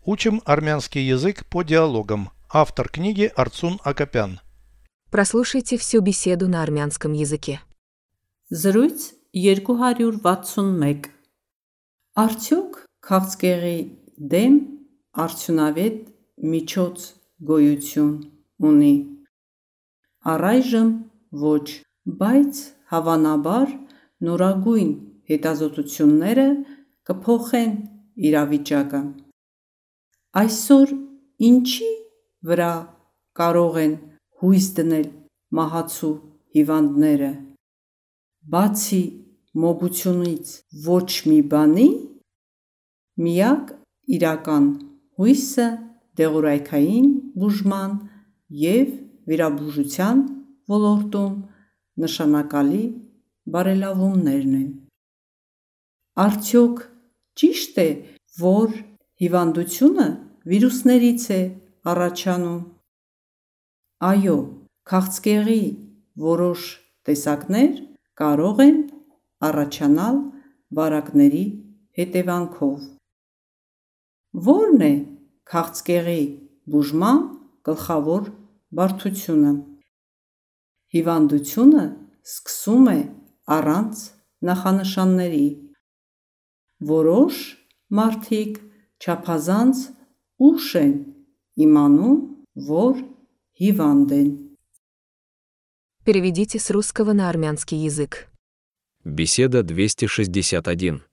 Учим армянский язык по диалогам. Автор книги Арцун Акопян. Прослушайте всю беседу на армянском языке. Զրույց 261 Արդյոք քաղցկեղի դեմ արդյունավետ միջոց գոյություն ունի։ Առայժմ ոչ, բայց հավանաբար նորագույն հետազոտությունները կփոխեն իրավիճակը։ Այսօր ինչի վրա կարող են հույս դնել մահացու հիվանդները։ Բացի մոգությունից ոչ մի բանի, միակ իրական հույսը դեղորայքային բուժման և վիրաբուժության ոլորտում նշանակալի բարելավումներն են։ Արդյոք ճիշտ է, որ հիվանդությունը վիրուսներից է առաջանում։ Այո, քաղցկեղի որոշ տեսակներ կարող են առաջանալ վարակների հետևանքով։ Ո՞րն է քաղցկեղի բուժման գլխավոր բարդությունը։ Հիվանդությունը սկսում է առանց նախանշանների։ Որոշ մարդիկ չափազանց ուշ են իմանում, որ հիվանդ են։ Переведите с русского на армянский язык. Беседа 261.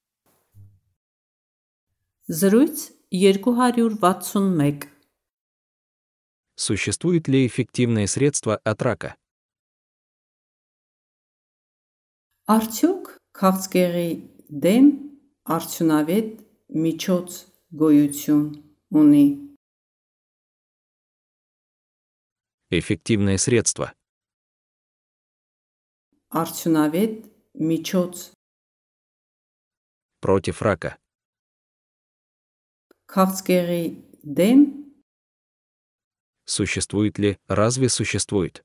Զրույց 261 Существует ли эффективное средство от рака? Արդյոք քաղցկեղի դեմ արդյունավետ միջոց գոյություն ունի։ Эффективное средство. Արդյունավետ միջոց Против рака. քաղցկեղի դեմ Существует ли, разве существует?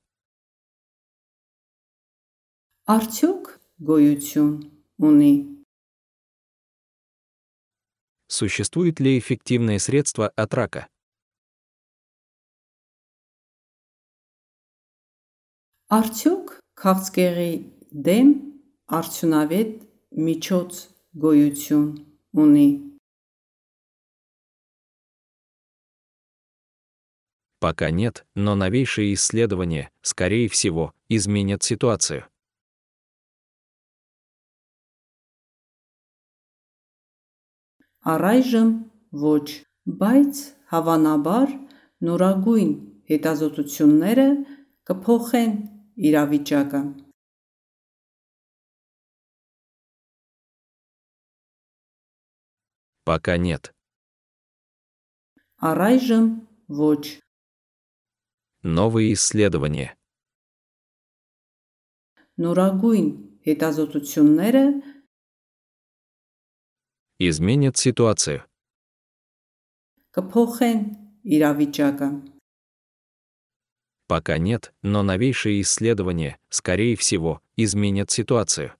արդյոք գոյություն ունի։ Существует ли эффективное средство от рака? Արդյոք քաղցկեղի դեմ արդյունավետ միջոց գոյություն ունի։ Пока нет, но новейшие исследования, скорее всего, изменят ситуацию. Առայժմ ոչ, բայց հավանաբար նորագույն հետազոտությունները կփոխեն իրավիճակը։ Пока нет. Առայժմ ոչ, Новые исследования. նորագույն հետազոտությունները Изменят ситуацию. կփոխեն իրավիճակը։ Пока нет, но новейшие исследования, скорее всего, изменят ситуацию.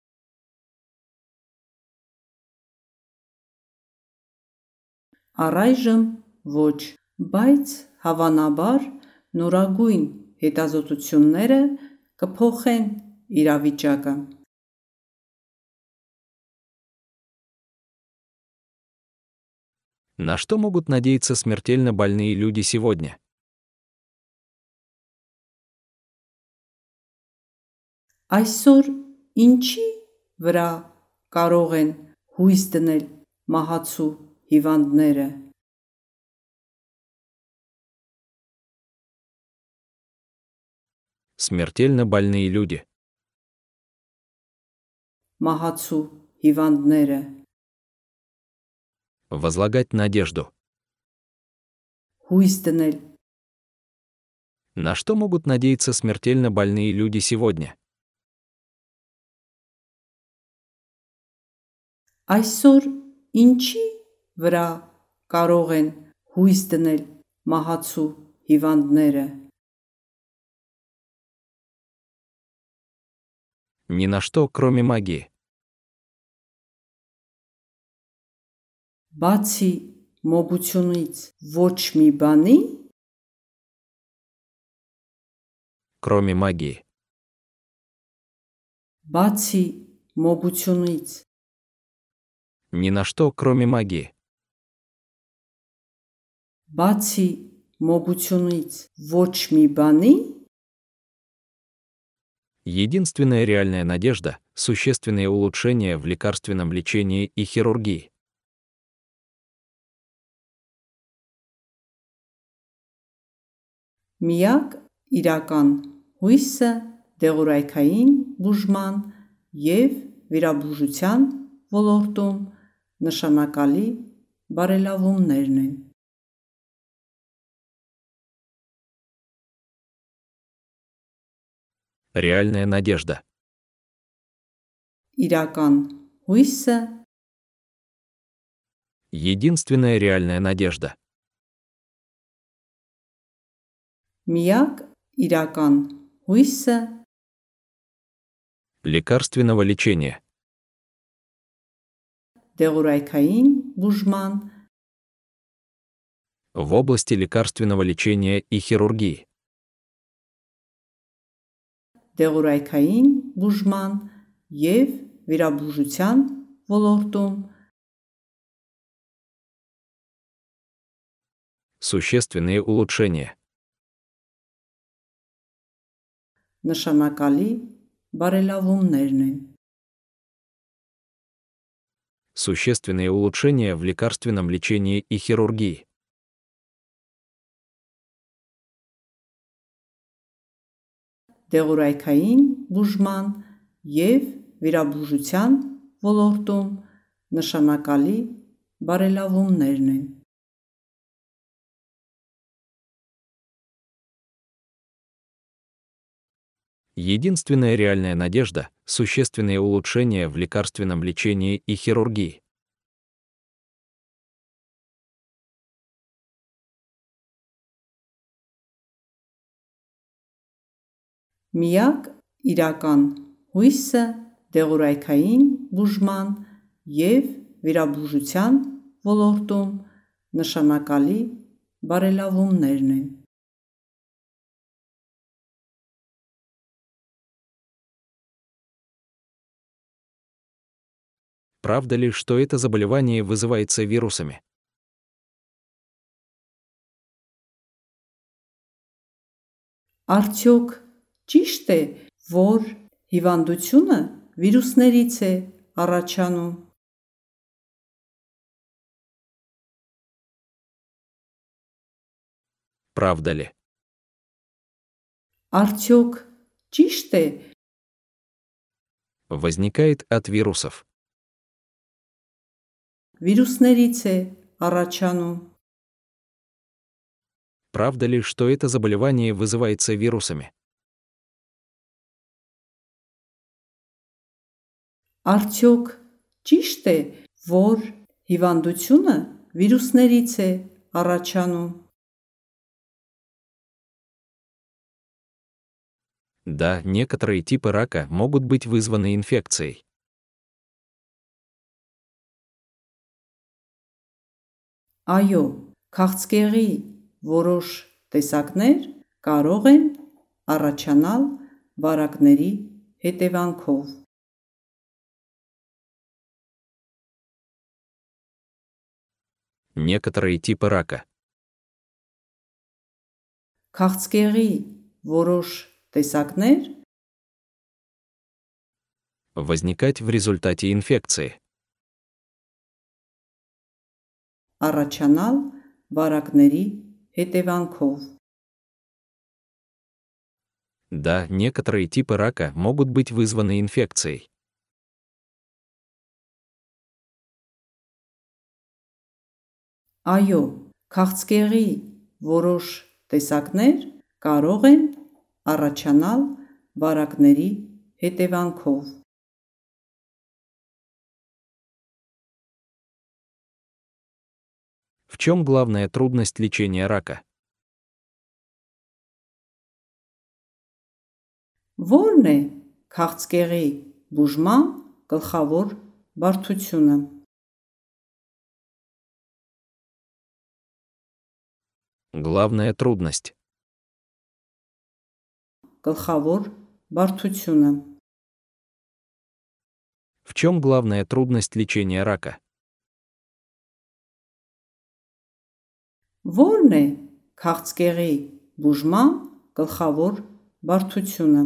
Առայժմ ոչ, բայց հավանաբար նորագույն հետազոտությունները կփոխեն իրավիճակը։ На что могут надеяться смертельно больные люди сегодня? Այսօր ինչի վրա կարող են հույս դնել մահացու հիվանդները։ Смертельно больные люди. Մահացու հիվանդները։ Возлагать надежду. Հույս դնել։ На что могут надеяться смертельно больные люди сегодня? Այսօր ինչի վրա կարող են հույս դնել մահացու հիվանդները։ Ни на что, кроме магии. Բացի մոգությունից ոչ մի բանի, Кроме магии. բացի մոգությունից, Ни на что, кроме магии. բացի մոգությունից ոչ մի բանի, Единственная реальная надежда – существенные улучшения в лекарственном лечении и хирургии. միակ իրական հույսը դեղորայքային բուժման և վիրաբուժության ոլորտում նշանակալի բարելավումներն են։ Реальная надежда. Իրական հույսը, Единственная реальная надежда. միակ իրական հույսը, Лекарственного лечения. դեղորայքային բուժման В области лекарственного лечения и хирургии. դեղորայքային բուժման և վիրաբուժության ոլորտում Существенные улучшения. նշանակալի բարելավումներն են։ Существенные улучшения в лекарственном лечении и хирургии. դեղորայքային բուժման և վիրաբուժության ոլորտում նշանակալի բարելավումներն են։ Единственная реальная надежда – существенные улучшения в лекарственном лечении и хирургии. միակ իրական հույսը դեղորայքային բուժման և վիրաբուժության ոլորտում նշանակալի բարելավումներն են։ Правда ли, что это заболевание вызывается вирусами? Արդյոք ճիշտ է, որ հիվանդությունը վիրուսներից է առաջանում։ Правда ли? Արդյոք ճիշտ է, Возникает от вирусов. վիրուսներից է առաջանում։ Правда ли, что это заболевание вызывается вирусами? Արդյոք ճիշտ է, որ հիվանդությունը վիրուսներից է առաջանում։ Да, некоторые типы рака могут быть вызваны инфекцией. Այո, քաղցկեղի որոշ տեսակներ կարող են առաջանալ վարակների հետևանքով։ Некоторые типы рака. Քաղցկեղի որոշ տեսակներ Возникать в результате инфекции. առաջանալ վարակների հետևանքով։ Да, некоторые типы рака могут быть вызваны инфекцией. Այո, քաղցկեղի որոշ տեսակներ կարող են առաջանալ վարակների հետևանքով։ В чем главная трудность лечения рака? Որն է քաղցկեղի բուժման գլխավոր բարդությունը։ Главная трудность. Գլխավոր բարդությունը։ В чем главная трудность лечения рака? Որն է քաղցկեղի բուժման գլխավոր բարդությունը։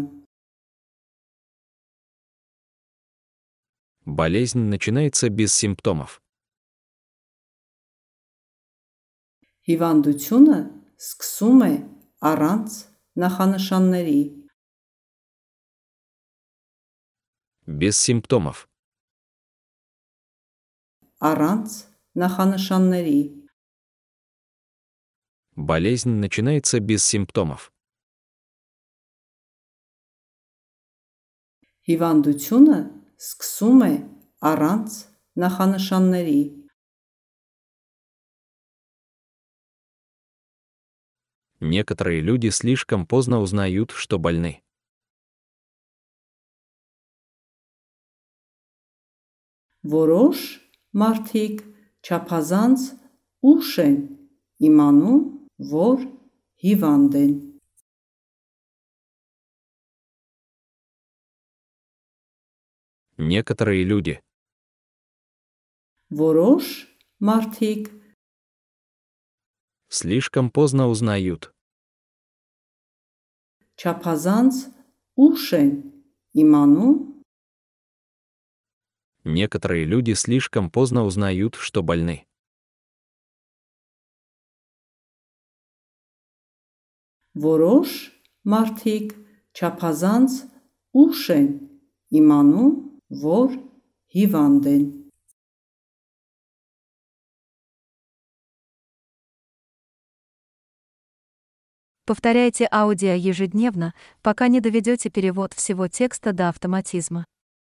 Болезнь начинается без симптомов. Հիվանդությունը սկսում է առանց նախանշանների։ Без симптомов. Առանց նախանշանների։ Болезнь начинается без симптомов. Հիվանդությունը սկսում է առանց նախանշանների։ Некоторые люди слишком поздно узнают, что больны. Որոշ մարդիկ չափազանց ուշ են իմանում, որ հիվանդ են։ Некоторые люди. Որոշ մարդիկ Слишком поздно узнают. չափազանց ուշ են իմանում, Некоторые люди слишком поздно узнают, что больны. որոշ մարդիկ չափազանց ուշ են իմանում, որ հիվանդ են։ Повторяйте аудио ежедневно, пока не доведете перевод всего текста до автоматизма.